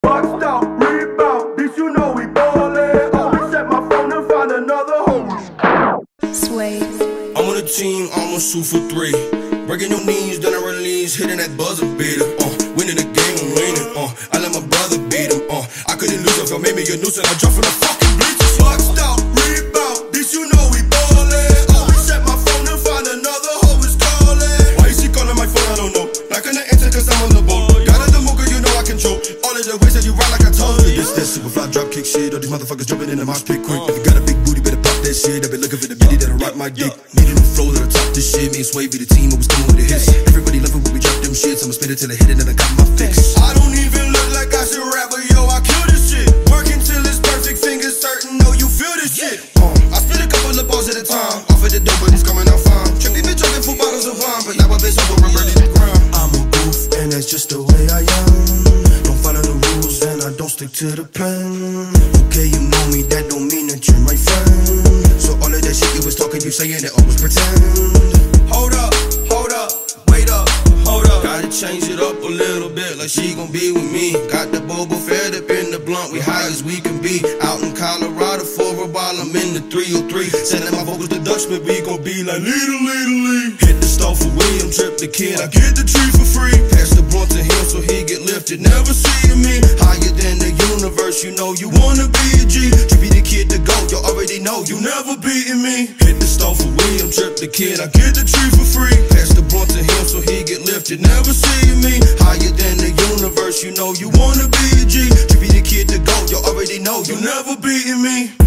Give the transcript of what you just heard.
Boxed out, rebound, bitch, you know we ballin'. Always check my phone and find another hoe. Sway. I'm on the team, I'ma shoot for three. Breaking your knees, then I release, hitting that buzzer beater. Winning the game, I'm winning. I let my brother beat him. I couldn't lose if I made me a nuisance. I dropped from the fucking bleachers. Boxed out, rebound, bitch, you know we ballin'. Always check my phone and find another hoe is callin'. Why is she calling my phone? I don't know. Not gonna answer cause I'm on the boat. Got it the mocha, you know I control. All of the ways that you ride like I told you. This that super fly drop kick shit. All these motherfuckers jumping in the mosh pit quick. If you got a big booty, better pop that shit. I been looking for the bitty that'll rock my dick. Needing a flow that'll top this shit. Me and Sway be the team, always coming with the hits. Everybody loving when we drop them shits. I'ma spin it till I hit it and I got my fix. I don't even look like I should rap, but yo, I kill this shit. Working till it's perfect, fingers certain, know you feel this shit. I spit a couple of balls at a time. Off of the dope, but it's coming out fine. Trippy been drinking 4 bottles of wine, but now I've been sober and ready to grind. I'm a goof, and that's just the way I am. Don't follow the rules, and I don't stick to the plan. Okay, you know me, that don't mean that you're my friend. So all of that shit you was talking, you saying it, always pretend. Hold up, wait up, hold up. Gotta change it up a little bit, like she gon' be with me. Got the Boba Fett up in the blunt, we high as we can be. Out in Colorado for a while, I'm in the 303. Sending my vocals to Dutchman, we gon' be like leader. Hit the stove for William, trip the kid, I get the tree for free. Pass the blunt to him so he get lifted, never seeing me. Higher than the universe, you know you wanna be a G. Trippy the kid to go, you already know you never beating me. Hit the stove for William, trip the kid, I get the tree for free. Pass the blunt to him so he get lifted, never seeing me. Higher than the universe, you know you wanna be a G. Trippy the kid to go, you already know you never beating me.